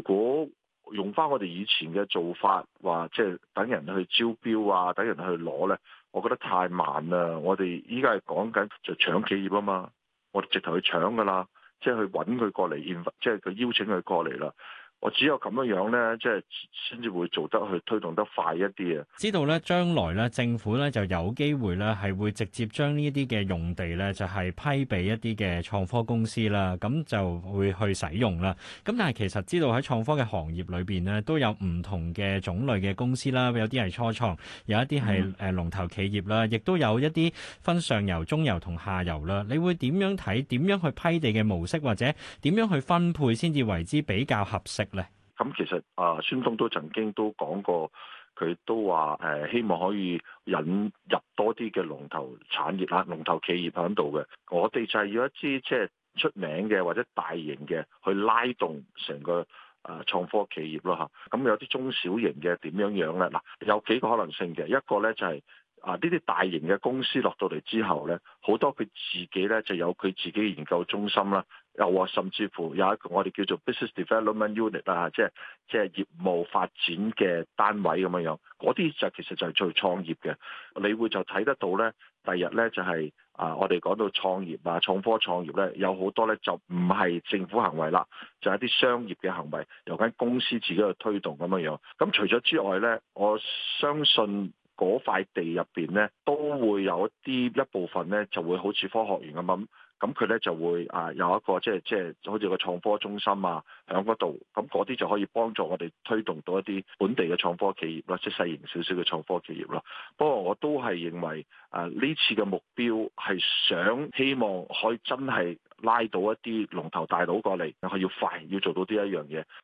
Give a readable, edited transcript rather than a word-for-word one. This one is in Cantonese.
如果用翻我哋以前嘅做法，話即係等人去招標啊，等人去攞咧，我覺得太慢啦。我哋依家係講緊就搶企業啊嘛，我哋直頭去搶噶啦，即係去揾佢過嚟，即係佢邀請佢過嚟啦。我只有咁樣樣咧，即係先至會做得去推動得快一啲啊！ 知道咧，將來咧政府咧就有機會咧係會直接將呢啲嘅用地咧就係批俾一啲嘅創科公司啦，咁就會去使用啦。咁但係其實知道喺創科嘅行業裏邊咧都有唔同嘅種類嘅公司啦，有啲係初創，有一啲係龍頭企業啦，亦都有一啲分上游、中游同下游啦。你會點樣睇？點樣去批地嘅模式，或者點樣去分配先至為之比較合適咧？ 咁其實孫東都曾經都講過，佢都話希望可以引入多啲嘅龍頭產業啦、龍頭企業喺度嘅。我哋就係要一支即係出名嘅或者大型嘅去拉動成個創科企業咯嚇。咁有啲中小型嘅點樣樣咧？嗱，有幾個可能性嘅。一個咧就係呢啲大型嘅公司落到嚟之後咧，好多佢自己咧就有佢自己研究中心啦。又話甚至乎有一個我哋叫做 business development unit 啊，即係業務發展嘅單位咁樣樣，嗰啲就其實就係做創業嘅。你會就睇得到咧，第日咧就係我哋講到創業啊、創科創業咧，有好多咧就唔係政府行為啦，就係一啲商業嘅行為，由間公司自己去推動咁樣樣。咁除咗之外咧，我相信嗰塊地入邊咧都會有一部分咧就會好似科學園咁佢咧就會有一個即係好似個創科中心啊，喺嗰度，咁嗰啲就可以幫助我哋推動到一啲本地嘅創科企業啦，即係細型少少嘅創科企業啦。不過我都係認為呢次嘅目標係希望可以真係拉到一啲龍頭大佬過嚟，係要快要做到呢一樣嘢。